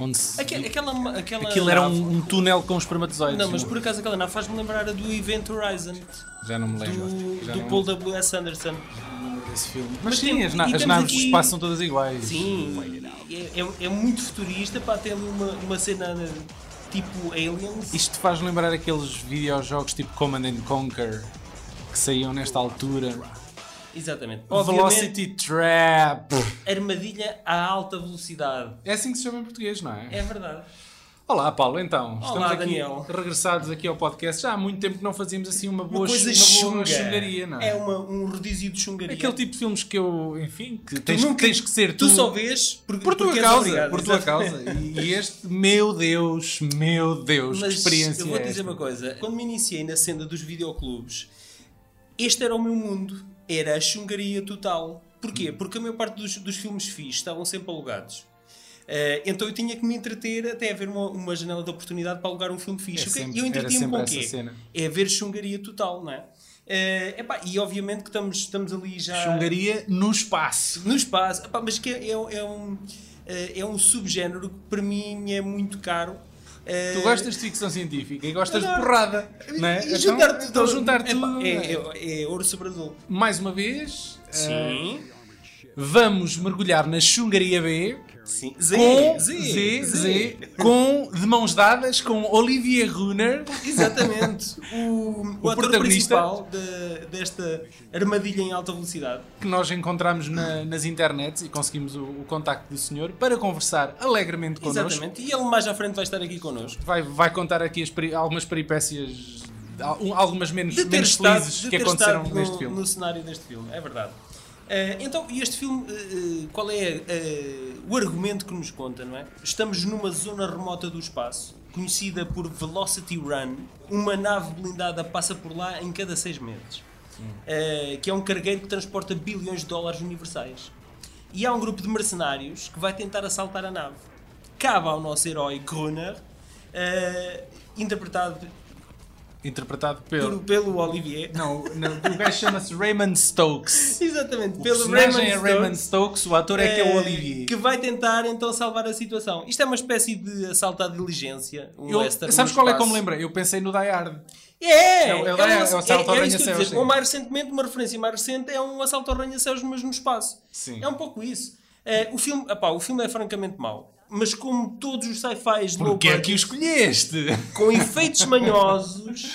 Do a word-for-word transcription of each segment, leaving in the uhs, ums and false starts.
onde Aquela, aquela, aquela aquilo era nave... um, um túnel com espermatozoides. Não, mas por acaso aquela nave faz-me lembrar a do Event Horizon. Já não me lembro. Do, Já do não Paul W S Anderson. Esse filme. Mas, Mas sim, tem- as, na- e as temos naves aqui- do espaço são todas iguais. Sim, é, é, é muito futurista, pá, tem ali uma, uma cena tipo Aliens. Isto faz lembrar aqueles videojogos tipo Command and Conquer que saíam nesta altura. Exatamente. Velocity Trap. Armadilha a alta velocidade. É assim que se chama em português, não é? É verdade. Olá, Paulo, então. Olá, Estamos aqui Daniel. regressados aqui ao podcast. Já há muito tempo que não fazíamos assim uma boa, Uma coisa chu- uma boa chunga. chungaria, não é? É uma, um rodízio de chungaria. Aquele tipo de filmes que eu, enfim, que Tu tens, nunca- tens que ser tu. Tu só vês por, Por tua porque és causa, obrigado, por tua exatamente. causa. E, e este, meu Deus, meu Deus, Mas que experiência eu vou-te é dizer esta? uma coisa. Quando me iniciei na senda dos videoclubes, este era o meu mundo. Era a chungaria total. Porquê? Porque a maior parte dos, dos filmes fixos estavam sempre alugados. Uh, então eu tinha que me entreter até haver uma, uma janela de oportunidade para alugar um filme fixe. É O quê? sempre- eu era entretinha-me sempre com o essa quê? cena. É ver chungaria total, não é? Uh, epá, e obviamente que estamos, estamos ali já... Chungaria no espaço. No espaço. Epá, mas que é, é, é um, uh, é um subgénero que para mim me é muito caro. Uh, Tu gostas de ficção científica e gostas de Adoro. porrada, não é? E juntar então, tudo. então juntar Epá, tudo. É, é, é ouro sobre azul. Mais uma vez, Sim. eh, vamos mergulhar na Chungaria B. Sim. Z, Com Z, Z, Z, com de mãos dadas com Olivier Runner. Exatamente. O, o, ator protagonista. principal de- desta armadilha em alta velocidade. Que nós encontramos na- nas internets e conseguimos o, o contacto do senhor para conversar alegremente connosco. Exatamente. E ele mais à frente vai estar aqui connosco. Vai, vai contar aqui as peri- algumas peripécias, al- algumas menos, De ter menos estado, felizes de que ter aconteceram estado neste no, filme. no cenário deste filme. É verdade. Eh, então, e este filme, eh, eh, qual é eh, o argumento que nos conta, não é? Estamos numa zona remota do espaço, conhecida por Velocity Run. Uma nave blindada passa por lá em cada seis meses. Eh, que é um cargueiro que transporta bilhões de dólares universais. E há um grupo de mercenários que vai tentar assaltar a nave. Cabe ao nosso herói Gruner, eh, interpretado Interpretado pelo... por- pelo Olivier. Não, não, o gajo chama-se Raymond Stokes. Exatamente, O pelo personagem Raymond é Raymond Stokes, Stokes, o ator é que é o eh, Olivier. que vai tentar então salvar a situação. Isto é uma espécie de assalto à diligência. Um Eu- western sabes no qual é que eu espaço. me lembrei? Eu pensei no Die Hard. É! É o- é o- um- é o assalto ao é isso que eu ia arranha-céus, dizer. sim. Ou mais recentemente, uma referência mais recente é um assalto ao arranha-céus, mas no espaço. Sim. É um pouco isso. Eh, o, filme, epá, o filme é francamente mau. Mas como todos os sci-fis low Porque é budget, que o escolheste? com efeitos manhosos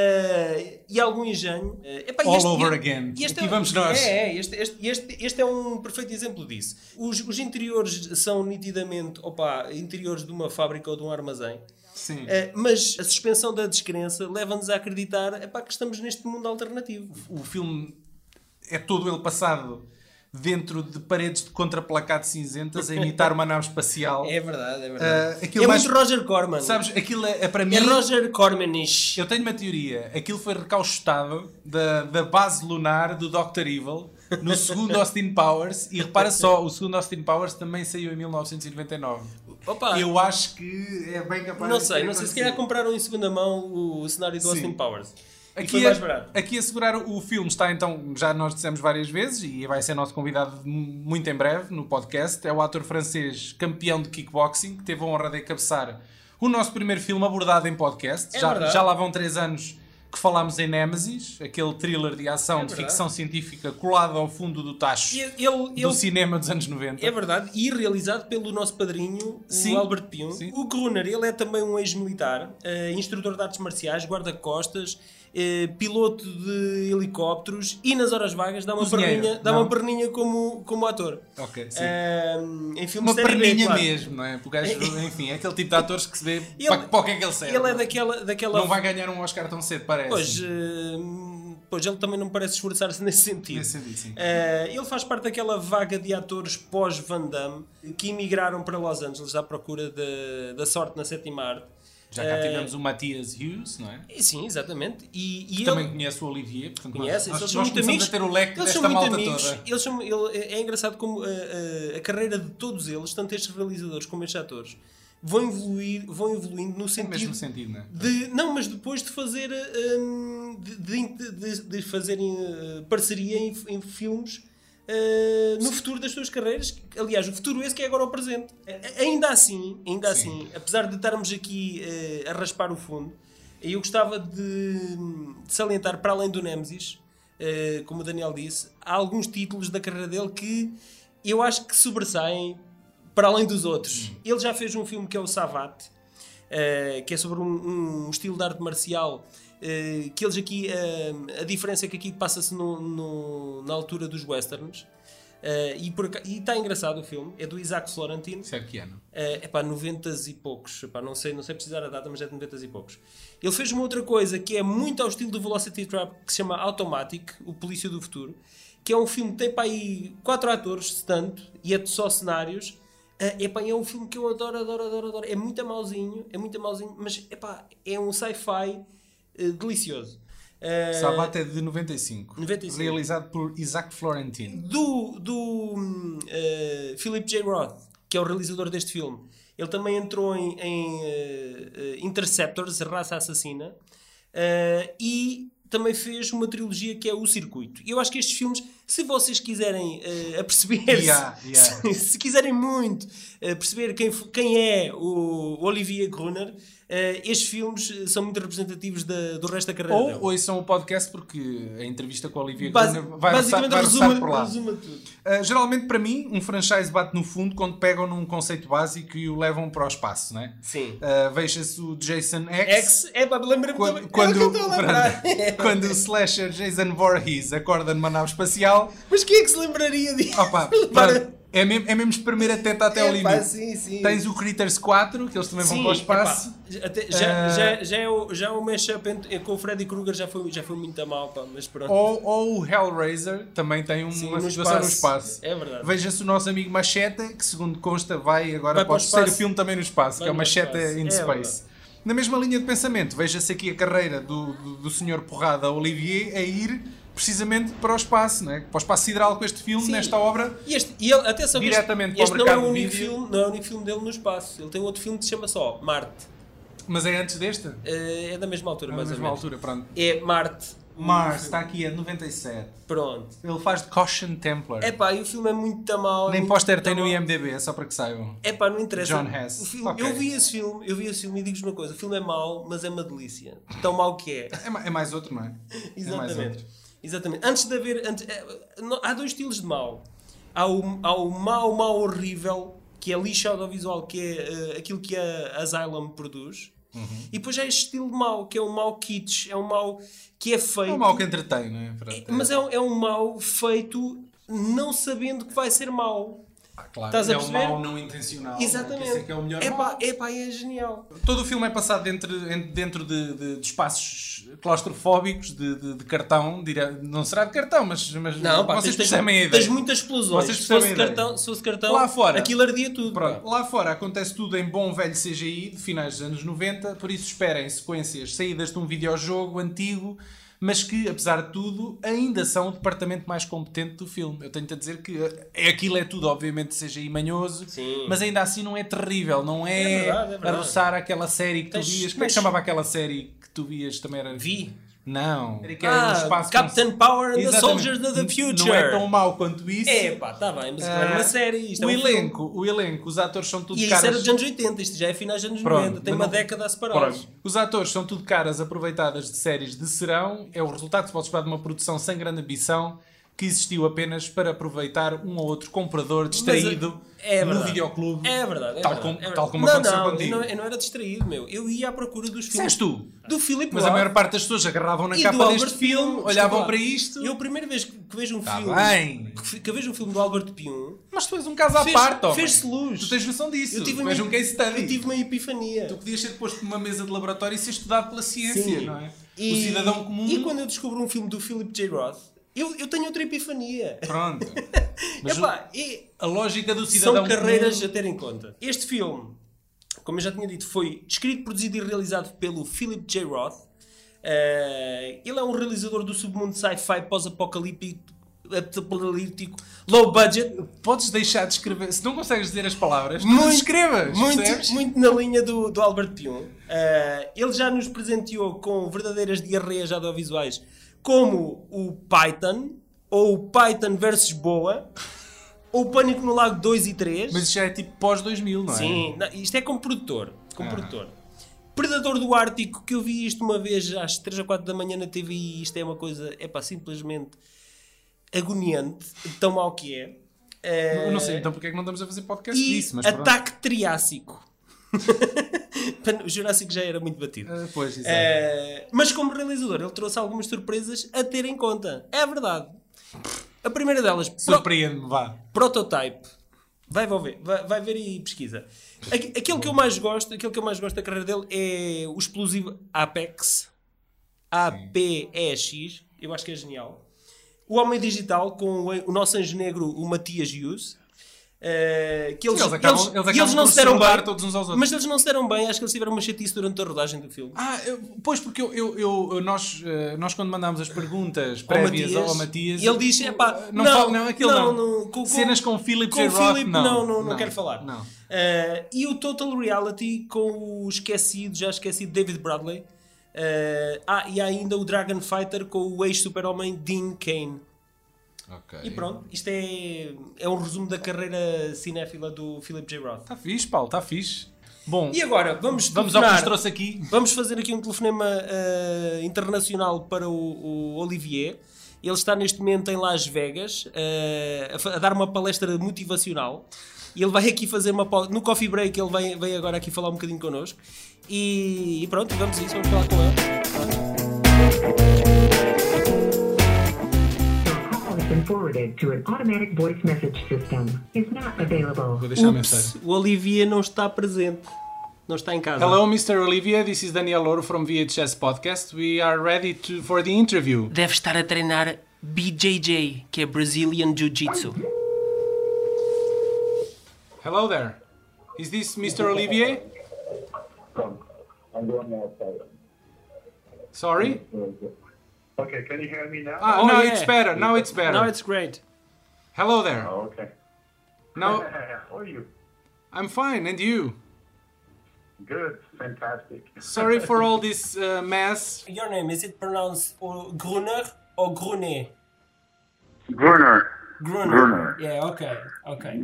eh, e algum engenho. eh, epá, All este- over e- again. e este Aqui é- vamos nós. É, é, este, este, este, este é um perfeito exemplo disso. Os, os interiores são nitidamente opa, interiores de uma fábrica ou de um armazém. Sim. Eh, mas a suspensão da descrença leva-nos a acreditar epá, que estamos neste mundo alternativo. O filme é todo ele passado dentro de paredes de contraplacado cinzentas a imitar uma nave espacial. É verdade, é verdade. Uh, aquilo é mais- muito Roger Corman. Sabes, aquilo é, é para mim... É Roger Cormanish. Eu tenho uma teoria. Aquilo foi recauchutado da, da base lunar do doutor Evil no segundo Austin Powers. E repara só, o segundo Austin Powers também saiu em mil novecentos e noventa e nove. Opa, Eu acho que é bem capaz não de sei, ter não sei se acontecido. calhar compraram em segunda mão o, o cenário do Sim. Austin Powers. E Aqui foi a, mais barato. aqui a segurar o filme está então, já nós dissemos várias vezes, e vai ser nosso convidado muito em breve no podcast, é o ator francês campeão de kickboxing, que teve a honra de encabeçar o nosso primeiro filme abordado em podcast. É já, verdade. já lá vão três anos que falámos em Nemesis, aquele thriller de ação É de verdade. ficção científica colado ao fundo do tacho E ele, do ele, cinema dos anos noventa. é verdade, e realizado pelo nosso padrinho, Sim. o Albert Pion. Sim. O Gruner, ele é também um ex-militar, eh, instrutor de artes marciais, guarda-costas, eh, piloto de helicópteros e nas horas vagas dá uma Cozinheiro, perninha, dá não? uma perninha como, como ator. Ok, sim. Eh, em filmes Uma de série B, perninha claro. mesmo, não é? Porque o gajo, enfim, é aquele tipo de atores que se vê Ele- para, para o que é que ele serve. Ele é daquela... daquela Não vai ganhar um Oscar tão cedo, parece. Pois, eh, pois ele também não parece esforçar-se nesse sentido. Nesse sentido, sim. Eh, ele faz parte daquela vaga de atores pós-Van Damme que emigraram para Los Angeles à procura de- da sorte na sétima arte. Já cá Eh, tivemos o Matthias Hughes, não é? e sim, exatamente. E, e Também ele conhece o Olivier, portanto conhece, nós, eles nós, são nós muito começamos amigos. a ter o leque Eles desta são muito malta amigos. toda. Eles são, ele- é engraçado como a, a- a carreira de todos eles, tanto estes realizadores como estes atores, vão evoluir, vão evoluindo no No sentido mesmo sentido, não é? de, não, mas depois de fazer hum, de, de, de- de fazerem uh, parceria em, em filmes uh, no futuro das suas carreiras. Aliás, o futuro esse que é agora o presente. Uh, ainda assim, ainda assim, apesar de estarmos aqui uh, a raspar o fundo, eu gostava de, de salientar, para além do Nemesis, uh, como o Daniel disse, há alguns títulos da carreira dele que eu acho que sobressaem para além dos outros. Hum. Ele já fez um filme que é o Savate, uh, que é sobre um, um estilo de arte marcial, uh, que eles aqui, uh, a diferença é que aqui passa-se no, no, na altura dos westerns, uh, e está engraçado o filme, é do Isaac Florentine. Certo que ano? Uh, é pá, noventa e poucos, epá, não, sei, não sei precisar a data, mas é de noventa e poucos. Ele fez uma outra coisa que é muito ao estilo do Velocity Trap, que se chama Automatic, o Polícia do Futuro, que é um filme que tem para aí quatro atores, se tanto, e é só cenários. Uh, epá, é um filme que eu adoro, adoro, adoro, adoro. É muito mauzinho, é muito mauzinho, mas epá, é um sci-fi uh, delicioso. Uh, Savate é de noventa e cinco. noventa e cinco. Realizado por Isaac Florentine. Do, do uh, Philip J. Roth, que é o realizador deste filme. Ele também entrou em, em uh, Interceptors, Raça Assassina, uh, e também fez uma trilogia que é O Circuito. E eu acho que estes filmes, se vocês quiserem uh, aperceber-se, yeah, yeah. se, se quiserem muito uh, perceber quem, quem é o Olivier Gruner, uh, estes filmes são muito representativos da, do resto da carreira Ou dele. ouçam o podcast, porque a entrevista com a Olivier Basi- Gruner vai basicamente roçar, vai resuma, roçar por lá. resuma tudo. Uh, geralmente, para mim, um franchise bate no fundo quando pegam num conceito básico e o levam para o espaço, não é? Sim. Uh, Veja-se o Jason X. X, é pá, lembra-me Quando, também. quando, É o que eu estou a lembrar. quando o slasher Jason Voorhees acorda numa nave espacial. Mas quem é que se lembraria disso? Opa, pronto, é, mesmo, é mesmo espremer a teta até É, ao pá, limite. sim, sim. Tens o Critters quatro, que eles também vão Sim, para o espaço. epá, até- já, Uh, já, já, é o, já o mashup entre- com o Freddy Krueger já foi, já foi muito a mal, pá, mas pronto. Ou, ou o Hellraiser também tem um- Sim, uma no situação no espaço. espaço. É verdade. Veja-se o nosso amigo Machete, que segundo consta vai agora Vai para para o o terceiro espaço. filme também no espaço, Vai que é o no Machete espaço. in É Space. verdade. Na mesma linha de pensamento, veja-se aqui a carreira do, do, do senhor Porrada Olivier a ir precisamente para o espaço, não é? Para o espaço sideral com este filme, Sim. nesta obra. E este, e ele, atenção, que Diretamente este, para o este não é mercado o de único vídeo. filme, não é o único filme dele no espaço. Ele tem outro filme que se chama só Marte. Mas é antes deste? Eh, é da mesma altura, É na mais mesma ou menos. altura, pronto. É Marte. Mars, está aqui, é de noventa e sete. Pronto. Ele faz de Caution Templar. É pá, e o filme é muito mal. Nem muito póster tem no mau. I M D B, é só para que saibam. É pá, não interessa. John Hess. O filme, Ok. Eu vi esse filme, eu vi esse filme e digo-vos uma coisa: o filme é mau, mas é uma delícia. Tão mau que é. É, ma- é mais outro, não é? É mais Exatamente. outro. Exatamente. Antes de haver. Antes, é, não- há dois estilos de mau. Há o, há o mau, mau horrível, que é lixo audiovisual, que é eh, aquilo que a Asylum produz. Uhum. E depois há este estilo de mau, que é um mau kitsch, é um mau que é feito. É um mal que entretém, não é? Pronto, é- Mas é, um- é um mau feito não sabendo que vai ser mau. Ah, claro. Estás a é um perceber? mal não intencional. Exatamente. Esse é que é o melhor é mal. pá, é pá, é genial. Todo o filme é passado dentro, en- dentro de, de- de espaços claustrofóbicos, de, de- de cartão. dire- Não será de cartão, mas, mas Não, pá, vocês tens, percebem a tens, ideia. tens muitas explosões. Vocês Se fosse, percebem a ideia. cartão, se fosse cartão, Lá fora. aquilo ardia tudo. Pronto, pá. lá fora acontece tudo em bom velho C G I de finais dos anos noventa, por isso esperem sequências saídas de um videojogo antigo, mas que, apesar de tudo, ainda são o departamento mais competente do filme. Eu tenho-te a dizer que é, aquilo é tudo, obviamente, C G I manhoso, Sim. mas ainda assim não é terrível, não é, É verdade, é a verdade. roçar aquela série que Tens- tu vias. Como é que tens- chamava aquela série que tu vias? Também era... Vi. Não. Que era um Ah, espaço Captain com- Power and the Exatamente. Soldiers of the Future. Não é tão mau quanto isso. É pá, está bem, mas aquilo era Ah, uma série. Isto o é um filme. elenco, o elenco, os atores são tudo E isso caras... era dos anos oitenta, isto já é finais dos anos Pronto, noventa. Tem mas uma não- década a separá-los. Pronto. Os atores são tudo caras aproveitadas de séries de serão. É o resultado que se pode esperar de uma produção sem grande ambição que existiu apenas para aproveitar um ou outro comprador distraído é no verdade. videoclube. É verdade, é tal, verdade, como, é verdade. tal como não, aconteceu não, contigo. eu não, eu não era distraído, meu. Eu ia à procura dos filmes. Disseste tu. Do Philip Mas a Roth maior parte das pessoas agarravam na e capa do deste Albert filme, Pyun. olhavam Desculpa, para isto. Eu, a primeira vez que que vejo um Tá filme. bem. Que, que vejo um filme do Albert Pyun. Mas tu és um caso à Fez- parte, homem. fez-se luz. Tu tens noção disso. Eu tive tu uma, és um case study. eu tive uma epifania. Tu podias ser posto numa mesa de laboratório e ser estudado pela ciência, Sim. não é? E, o cidadão comum. E quando eu descubro um filme do Philip J. Roth, eu, eu tenho outra epifania. Pronto. Mas Epá, e a lógica do cidadão são carreiras comum... a ter em conta. Este filme, como eu já tinha dito, foi escrito, produzido e realizado pelo Philip J. Roth. Uh, ele é um realizador do submundo sci-fi pós-apocalíptico, apocalíptico, low budget, Podes deixar de escrever. Se não consegues dizer as palavras, não Muito- escrevas. muito, percebes? muito na linha do, do Albert Pyun. Uh, ele já nos presenteou com verdadeiras diarreias audiovisuais, como o Python ou Python versus Boa, ou Pânico no Lago dois e três. Mas isso já é tipo pós dois mil, não é? Sim, não, isto é como produtor. Como Ah. produtor. Predador do Ártico, que eu vi isto uma vez às três ou quatro da manhã na T V e isto é uma coisa, é pá, simplesmente agoniante, tão mau que é. Eu não sei, então porque é que não estamos a fazer podcast E disso? Mas pronto. Ataque Triássico. O Jurássico já era muito batido. Ah, pois, exato. Eh, mas como realizador, ele trouxe algumas surpresas a ter em conta. É verdade. A primeira delas, pro- Surpreende-me, vá. Prototype. Vai, vai ver, vai, vai ver e pesquisa. Aqu- Aquilo que eu mais gosto, aquilo que eu mais gosto da carreira dele é o explosivo Apex. A P E X. Eu acho que é genial. O Homem Digital com o, o nosso anjo negro, o Matias Hughes. Uh, que eles, Sim, eles acabam- eles- eles e acabam eles não por se deram se rodar bem, todos uns aos outros. mas eles não se deram bem, acho que eles tiveram uma chatice durante a rodagem do filme. Ah, eu- pois, porque eu, eu, eu- nós, eh, nós quando mandámos as perguntas prévias ao, ao Matias, ele diz, epá, não, não, fala- não, aquilo não. não, com- com- Cenas com Philip com J. Roth, Philip, não. não, não, não Não, quero falar. não. Uh, e o Total Reality com o esquecido, já esquecido David Bradley. Uh, ah, e há ainda o Dragon Fighter com o ex-super-homem Dean Cain. Ok. E pronto, isto é, é um resumo da carreira cinéfila do Philip J. Roth. Está fixe, Paulo, está fixe. Bom, E agora, vamos vamos ao que nos telefonar. trouxe aqui. Vamos fazer aqui um telefonema uh, internacional para o, o Olivier. Ele está neste momento em Las Vegas uh, a, fa- a dar uma palestra motivacional. E ele vai aqui fazer uma... pau- No coffee break ele vem, vem agora aqui falar um bocadinho connosco. E, e pronto, vamos a isso, vamos falar com ele. Has been forwarded to an automatic voice message system. Is not available. Vou deixar a Ups, mensagem. o Olivier não está presente. Não está em casa. Hello, mister Olivier. This is Daniel Louro from V H S Podcast. We are ready to, for the interview. Deve estar a treinar B J J, que é Brazilian Jiu-Jitsu. Hello there. Is this mister Olivier? I'm going outside. Sorry? Okay, can you hear me now? Ah, Oh, now yeah. it's better. Now it's better. Now it's great. Hello there. Oh, okay. Now How are you? I'm fine, and you? Good, fantastic. Sorry for all this uh, mess. Your name, is it pronounced Gruner or Grunet? Gruner. Gruner. Gruner. Yeah, okay, okay.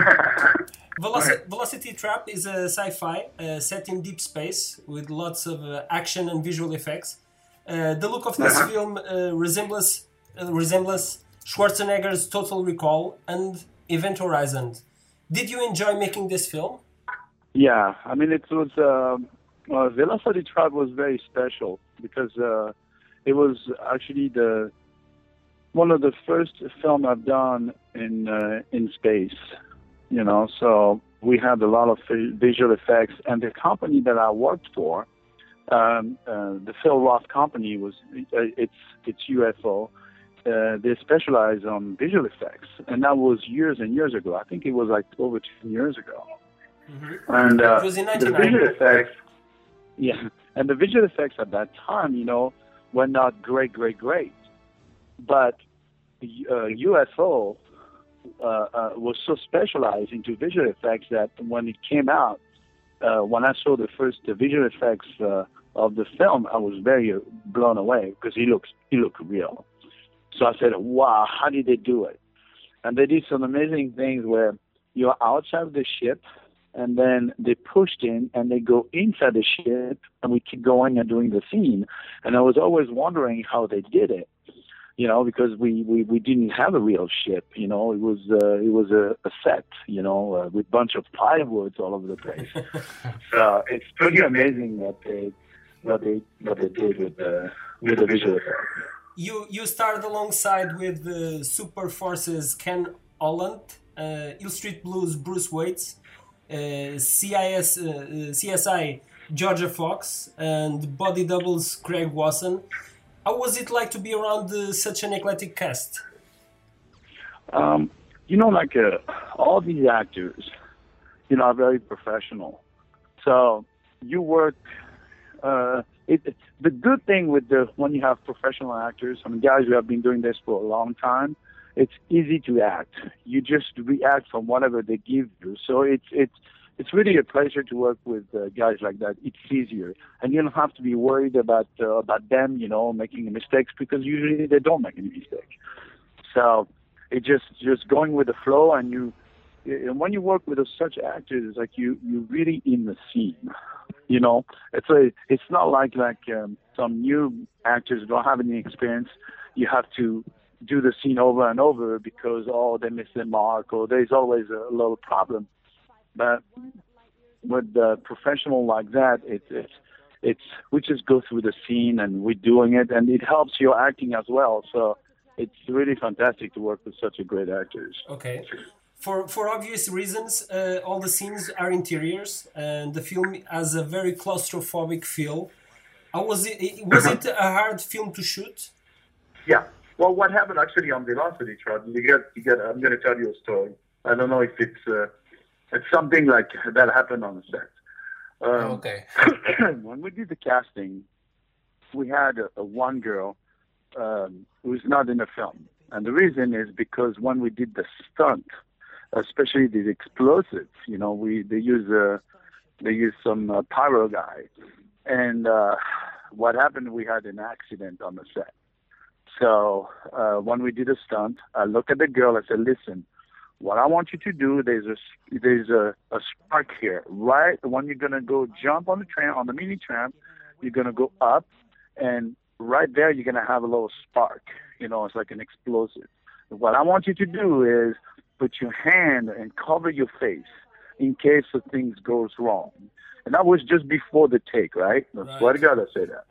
Veloci- Velocity Trap is a sci-fi uh, set in deep space with lots of uh, action and visual effects. Uh, the look of this Uh-huh. film uh, resembles uh, resembles Schwarzenegger's Total Recall and Event Horizon. Did you enjoy making this film? Yeah, I mean, it was, uh, uh, Velocity Trap was very special because uh, it was actually the one of the first film I've done in uh, in space, you know, so we had a lot of vi- visual effects, and the company that I worked for, um, uh, the Phil Roth company, was uh, it's it's U F O. Uh, they specialize on visual effects, and that was years and years ago. I think it was like over ten years ago. And uh, It was in the ninety-nine. visual effects, yeah, and the visual effects at that time, you know, were not great, great, great. But uh, U F O uh, uh, was so specialized into visual effects that when it came out, uh, when I saw the first uh, visual effects uh, of the film, I was very uh, blown away because he looks he looked real. So I said, "Wow, how did they do it?" And they did some amazing things where you're outside of the ship, and then they pushed in and they go inside the ship, and we keep going and doing the scene. And I was always wondering how they did it, you know, because we, we, we didn't have a real ship, you know, it was uh, it was a, a set, you know, uh, with a bunch of plywoods all over the place. So it's pretty amazing what they what they what they did with the with the visual effects. You you starred alongside with the Super Forces Ken Holland, uh, Hill Street Blues Bruce Waits, uh, C I S uh, C S I Georgia Fox, and Body Doubles Craig Wasson. How was it like to be around uh, such an eclectic cast? Um, you know, like uh, all these actors, you know, are very professional. So you work. Uh, it, the good thing with the when you have professional actors, I mean, guys who have been doing this for a long time, it's easy to act. You just react from whatever they give you. So it's it's it's really a pleasure to work with uh, guys like that. It's easier, and you don't have to be worried about uh, about them, you know, making mistakes because usually they don't make any mistakes. So it just just going with the flow, and you and when you work with such actors, it's like you you really in the scene. You know, it's a it's not like like um, some new actors don't have any experience. You have to do the scene over and over because oh they missed the mark or there's always a little problem. But with the professional like that, it's it's it's we just go through the scene and we're doing it, and it helps your acting as well. So it's really fantastic to work with such a great actors. Okay. For for obvious reasons, uh, all the scenes are interiors, and the film has a very claustrophobic feel. How was it? Was it a hard film to shoot? Yeah. Well, what happened actually on Velocity Trap? You get, you get. I'm going to tell you a story. I don't know if it's uh, it's something like that happened on the set. Um, okay. When we did the casting, we had a, a one girl um, who's not in the film, and the reason is because when we did the stunt, especially the explosives, you know, we they use uh, they use some uh, pyro guy, and uh, what happened? We had an accident on the set. So uh, when we did a stunt, I looked at the girl. I said, "Listen, what I want you to do, there's a there's a, a spark here, right? When you're gonna go jump on the tram, on the mini tram, you're gonna go up, and right there you're gonna have a little spark. You know, it's like an explosive. What I want you to do is put your hand and cover your face in case the things goes wrong." And that was just before the take, right? I Right. swear to God, I say that.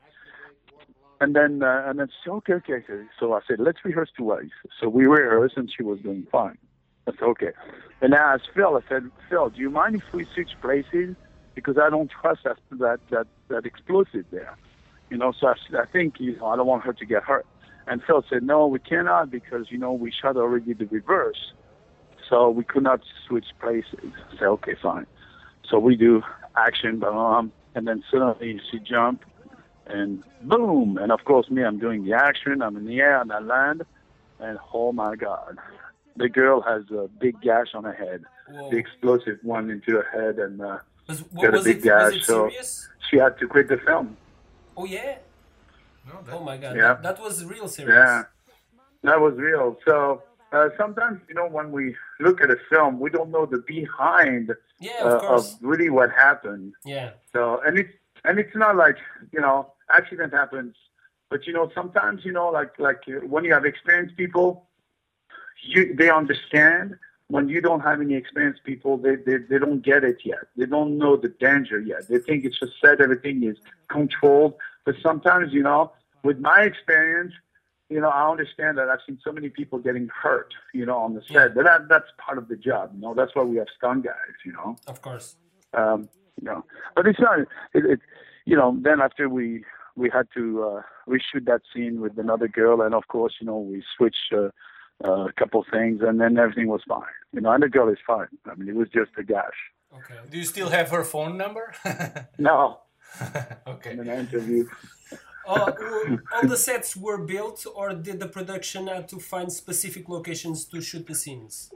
And then, uh, and then, so, okay, okay, okay. So I said, let's rehearse twice. So we rehearsed, and she was doing fine. I said, okay. And I asked Phil, I said, Phil, do you mind if we switch places? Because I don't trust that that that, that explosive there. You know, so I, I think, you know, I don't want her to get hurt. And Phil said, no, we cannot because, you know, we shot already the reverse. So we could not switch places. I said, okay, fine. So we do action, boom, and then suddenly she jumped. And boom, and of course me, I'm doing the action, I'm in the air, and I land, and oh my God, the girl has a big gash on her head, Whoa. the explosive one into her head, and uh, Was, got a was, big it, gash, was it so serious? she had to quit the film. Oh yeah. No, that, Oh my God. Yeah. That, that was real serious. Yeah, that was real. So uh, sometimes, you know, when we look at a film, we don't know the behind Yeah, of uh, course. of really what happened. Yeah. So, and it's, and it's not like, you know, accident happens, but, you know, sometimes, you know, like, like uh, when you have experienced people, you, they understand. When you don't have any experienced people, they, they, they don't get it yet. They don't know the danger yet. They think it's just said everything is controlled. But sometimes, you know, with my experience, you know, I understand that I've seen so many people getting hurt, you know, on the set. Yeah. But that, that's part of the job, you know. That's why we have stunt guys, you know. Of course. Um, you know, but it's not. It, it, you know. Then after we we had to uh, reshoot that scene with another girl, and of course, you know, we switched uh, uh, a couple things, and then everything was fine. You know, and the girl is fine. I mean, it was just a gash. Okay. do you still have her phone number? No, Okay. in an interview. all, all the sets were built, or did the production have to find specific locations to shoot the scenes?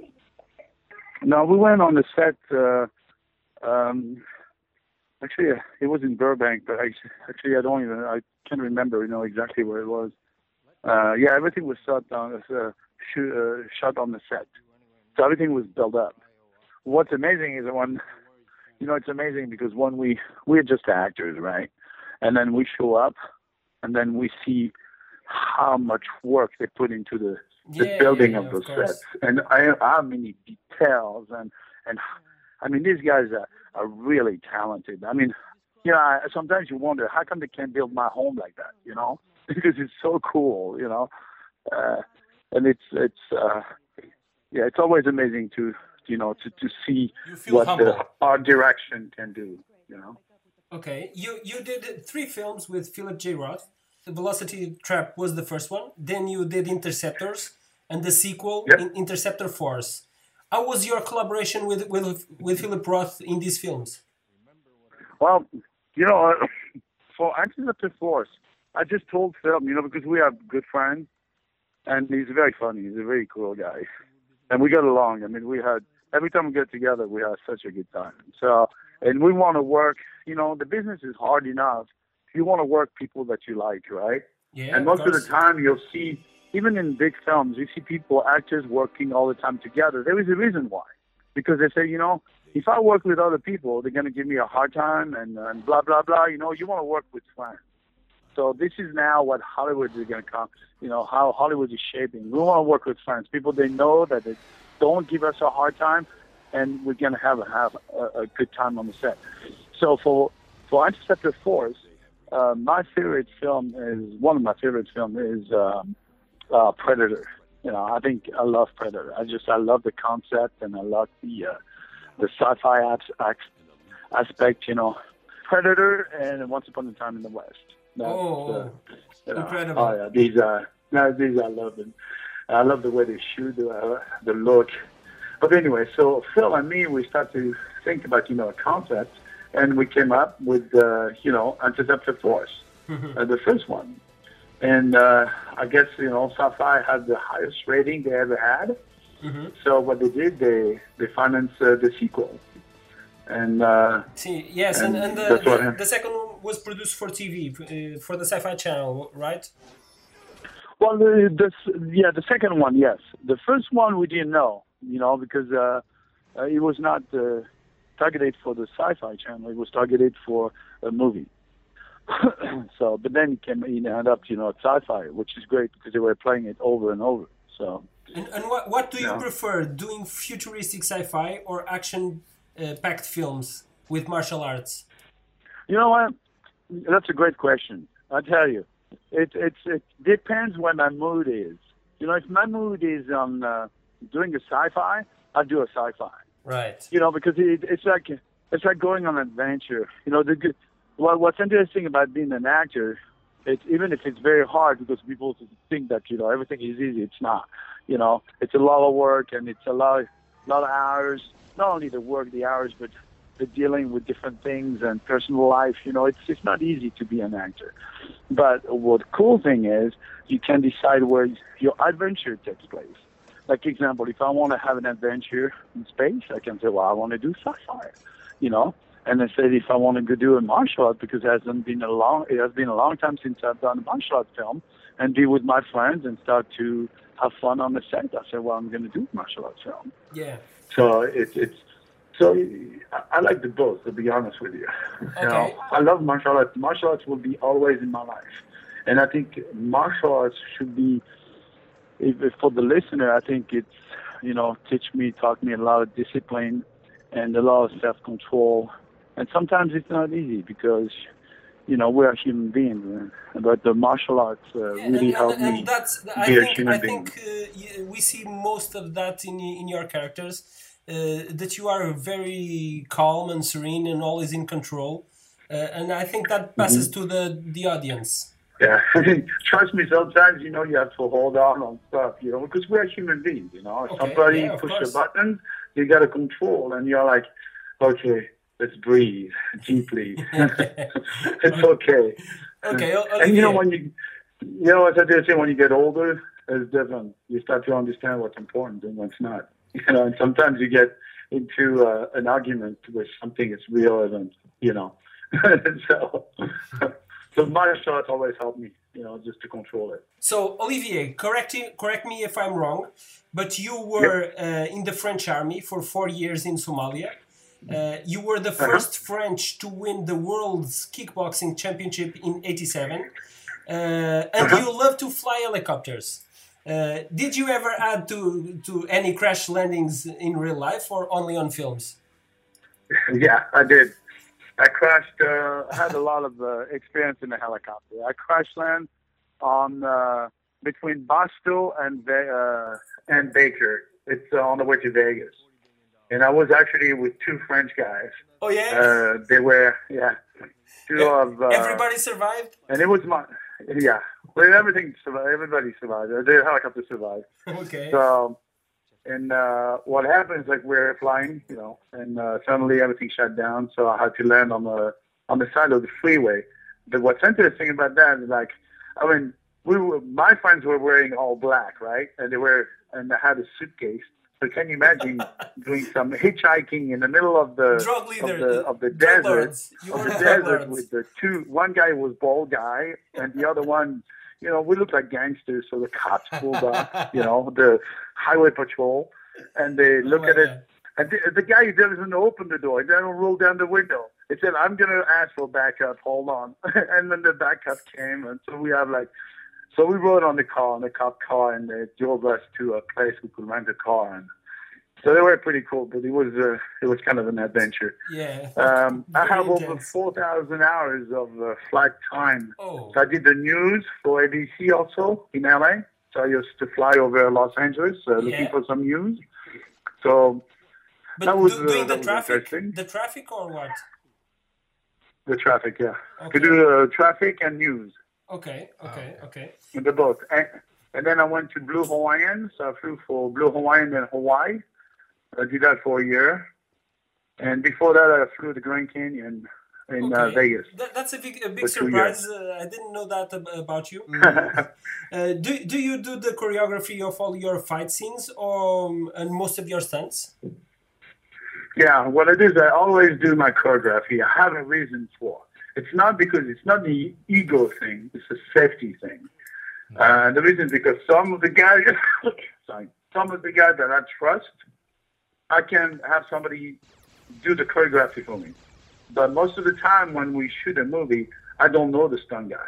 No, we went on the set. Uh, um, actually, uh, it was in Burbank, but I, actually, I don't even. I can't remember. You know exactly where it was. Uh, yeah, everything was shot on uh, shoot, uh, shot on the set, so everything was built up. What's amazing is that when, you know, it's amazing because when we we're just actors, right? And then we show up, and then we see how much work they put into the, the Yeah, building yeah, of yeah, those of course. sets, and I, how many details, and and I mean these guys are, are really talented. I mean, you know, I, sometimes you wonder how come they can't build my home like that, you know? Because it's so cool, you know, uh, and it's it's uh, yeah, it's always amazing to you know to to see You feel what humble. the art direction can do, you know. Okay, you you did three films with Philip J. Roth. The Velocity Trap was the first one. Then you did Interceptors, and the sequel, Yep. In- Interceptor Force. How was your collaboration with with with Philip Roth in these films? Well, you know, uh, for Interceptor Force, I just told Phil, you know, because we are good friends, and he's very funny. He's a very cool guy, and we got along. I mean, we had every time we get together, we have such a good time. So, and we want to work. You know, the business is hard enough. You want to work people that you like, right? Yeah, And most of the course. time, you'll see even in big films, you see people, actors working all the time together. There is a reason why. Because they say, you know, if I work with other people, they're going to give me a hard time and, and blah, blah, blah. You know, you want to work with friends. So this is now what Hollywood is going to come, you know, how Hollywood is shaping. We want to work with friends, people they know that they don't give us a hard time, and we're going to have, a, have a, a good time on the set. So for, for Interceptor Force, uh, my favorite film is, one of my favorite films is um, uh, Predator. You know, I think I love Predator. I just, I love the concept, and I love the uh, the sci-fi aspect, you know. Predator and Once Upon a Time in the West. That's, oh, uh, you know, incredible. Oh, yeah, these are, no, these I love them. I love the way they shoot, the, uh, the look. But anyway, so Phil and me, we start to think about, you know, a concept, and we came up with, uh, you know, Interceptor Force, uh, the first one. And uh, I guess, you know, Sci-Fi had the highest rating they ever had. Mm-hmm. So what they did, they, they financed uh, the sequel. And uh, See, yes, and, and, and the, the, the second one was produced for T V, uh, for the Sci-Fi Channel, right? Well, the, the, yeah, the second one, yes. The first one we didn't know, you know, because uh, uh, it was not uh, targeted for the Sci-Fi Channel. It was targeted for a movie. So, but then it came, it ended up, you know, at Sci-Fi, which is great because they were playing it over and over. So. And, and what what do you yeah. prefer, doing futuristic sci-fi or action-packed uh, films with martial arts? You know what? That's a great question. I tell you, it it's it depends what my mood is. You know, if my mood is on uh, doing a sci-fi, I do a sci-fi. Right. You know, because it, it's like it's like going on an adventure. You know, the good. Well, what's interesting about being an actor, it's even if it's very hard because people think that, you know, everything is easy. It's not. You know, it's a lot of work and it's a lot, lot of hours. Not only the work, the hours, but the dealing with different things and personal life. You know, it's it's not easy to be an actor. But what the cool thing is, you can decide where your adventure takes place. Like, example, if I want to have an adventure in space, I can say, well, I want to do sci-fi. You know. And I said, if I want to go do a martial art, because it hasn't been a long, it has been a long time since I've done a martial art film, and be with my friends and start to have fun on the set. I said, well, I'm going to do a martial arts film. Yeah. So it's it's so I, I like the both, to be honest with you. Okay. You know, I love martial arts. Martial arts will be always in my life, and I think martial arts should be, if, if for the listener, I think it's, you know, teach me, taught me a lot of discipline and a lot of self-control. And sometimes it's not easy because, you know, we're human beings. But the martial arts uh, yeah, really and, helped and, and me that's, be I a think, human I being. think uh, we see most of that in in your characters, uh, that you are very calm and serene and always in control. Uh, and I think that passes mm-hmm. to the, the audience. Yeah, I mean, trust me, sometimes, you know, you have to hold on on stuff, you know, because we're human beings, you know. If okay, somebody yeah, pushes a button, you got to control, and you're like, okay, let's breathe deeply. It's okay. Okay, Olivier. And you know, when you, you know, as I did say, when you get older, it's different. You start to understand what's important and what's not. You know, and sometimes you get into uh, an argument with something that's relevant, you know. so, so martial arts always helped me, you know, just to control it. So, Olivier, correct, correct me if I'm wrong, but you were yep. uh, in the French army for four years in Somalia. Uh, you were the first uh-huh. French to win the world's kickboxing championship in eighty-seven. Uh, and uh-huh. you love to fly helicopters. Uh, did you ever add to, to any crash landings in real life or only on films? Yeah, I did. I crashed, uh, I had a lot of uh, experience in a helicopter. I crash land on uh, between Boston and, uh, and Baker. It's uh, on the way to Vegas. And I was actually with two French guys. Oh, yeah? Uh, they were, yeah. Two yeah. of... Uh, Everybody survived? And it was my... Yeah. Well, everything survived. Everybody survived. The helicopter survived. Okay. So, and uh, what happened is, like, we're flying, you know, and uh, suddenly everything shut down. So I had to land on the on the side of the freeway. But what's interesting about that is, like, I mean, we were, my friends were wearing all black, right? And they were, and I had a suitcase. So can you imagine doing some hitchhiking in the middle of the drug leader, of the of the desert, you of were the the desert with the two? One guy was bald guy, and the other one, you know, we looked like gangsters. So the cops pulled up, you know, the highway patrol, and they look Oh, at my it. God. And the, the guy doesn't open the door. He doesn't roll down the window. He said, I'm going to ask for backup. Hold on. And then the backup came. And so we have like, so we rode on the car, on the cop car, and they drove us to a place we could rent a car. And so they were pretty cool, but it was, uh, it was kind of an adventure. Yeah. Um, I Very have over intense. four thousand hours of uh, flight time. Oh. So I did the news for A B C also in L A. So I used to fly over Los Angeles uh, looking Yeah. for some news. So But that was, do- uh, doing that the was traffic, interesting. the traffic or what? The traffic, yeah. Okay. To do uh, traffic and news, Okay, okay, okay. the both. And, and then I went to Blue Hawaiian, so I flew for Blue Hawaiian in Hawaii. I did that for a year. And before that, I flew the Grand Canyon in uh, Okay. Vegas. That, that's a big, a big For two surprise. Uh, I didn't know that ab- about you. uh, do do you do the choreography of all your fight scenes or um, and most of your stunts? Yeah, what I do is I always do my choreography. I have a reason for. It's not because it's not the ego thing. It's a safety thing. Uh, the reason is because some of the guys, sorry, some of the guys that I trust, I can have somebody do the choreography for me. But most of the time when we shoot a movie, I don't know the stunt guy.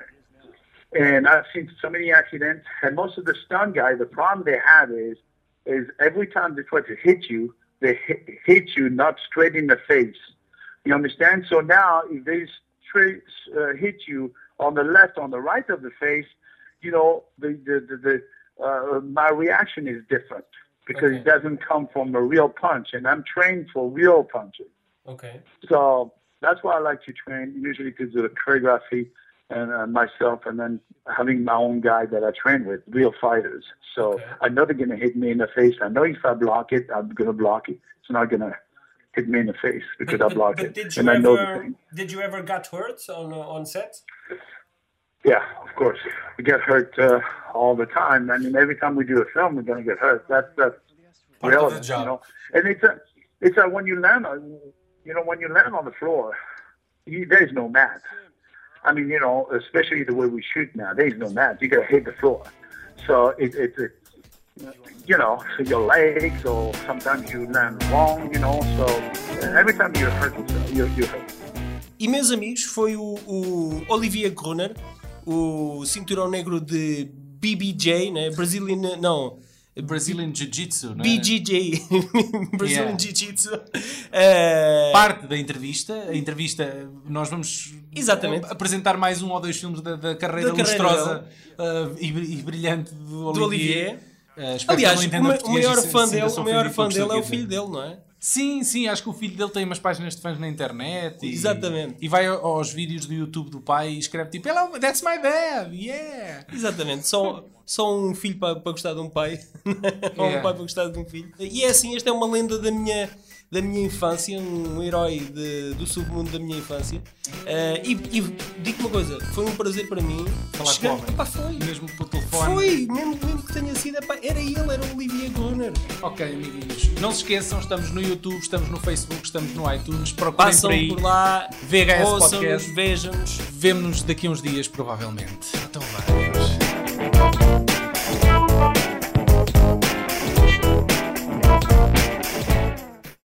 And I've seen so many accidents. And most of the stunt guys, the problem they have is, is every time they try to hit you, they hit, hit you not straight in the face. You understand? So now if they straight uh, hit you on the left, on the right of the face, you know, the the the, the uh, my reaction is different because Okay. it doesn't come from a real punch, and I'm trained for real punches. Okay. So that's why I like to train, usually to do the choreography and uh, myself, and then having my own guy that I train with, real fighters. So Okay. I know they're going to hit me in the face. I know if I block it, I'm going to block it. It's not going to hit me in the face because I block but it. did you And I know the ever thing. did you ever get hurt on uh, on set? Yeah, of course. We get hurt uh, all the time. I mean, every time we do a film, we're going to get hurt. That's that's Part of the relevant, job. you know. And it's a, it's a, when you land on, you know, when you land on the floor, you, there's no mat. I mean, you know, especially the way we shoot now, there's no mat. You got to hit the floor. So it, it, it, you know, so your legs, or sometimes you land wrong, you know. So every time you hurt yourself, you you hurt. E meus amigos, foi o, o Olivier Gruner, o cinturão negro de B B J, né? Brazilian, não, Brazilian Jiu-Jitsu, não é? B J J, Brazilian Yeah. Jiu-Jitsu. Eh, Parte da entrevista. A entrevista, nós vamos Exatamente. a- apresentar mais um ou dois filmes da, da carreira Da carreira lustrosa uh, e, bri- e brilhante do do Olivier. Olivier. Uh, espero Aliás, que o, ele não ma- entenda o maior português e fã sinta-se dele, o maior ofendido fã com dele é o que eu filho dizer. dele, não é? Sim, sim, acho que o filho dele tem umas páginas de fãs na internet. E, Exatamente. E vai aos vídeos do YouTube do pai e escreve tipo, Hello, that's my dad, yeah! Exatamente, só, só um filho para, para gostar de um pai, ou um Yeah. pai para gostar de um filho. E é assim, esta é uma lenda da minha, da minha infância, um herói de- do submundo da minha infância. Eh, e e digo uma coisa, foi um prazer para mim Falar chegar- com o homem. Epá, foi. Mesmo pelo telefone. Foi, mesmo, mesmo que tenha sido, epá, era ele, era o Olivier Gruner. Ok, amiguinhos. Não se esqueçam, estamos no YouTube, estamos no Facebook, estamos no iTunes. Procurem Passam por aí. por lá, V H S ouçam-nos, Podcast. vejam-nos. Vemo-nos daqui a uns dias, provavelmente. Então vai.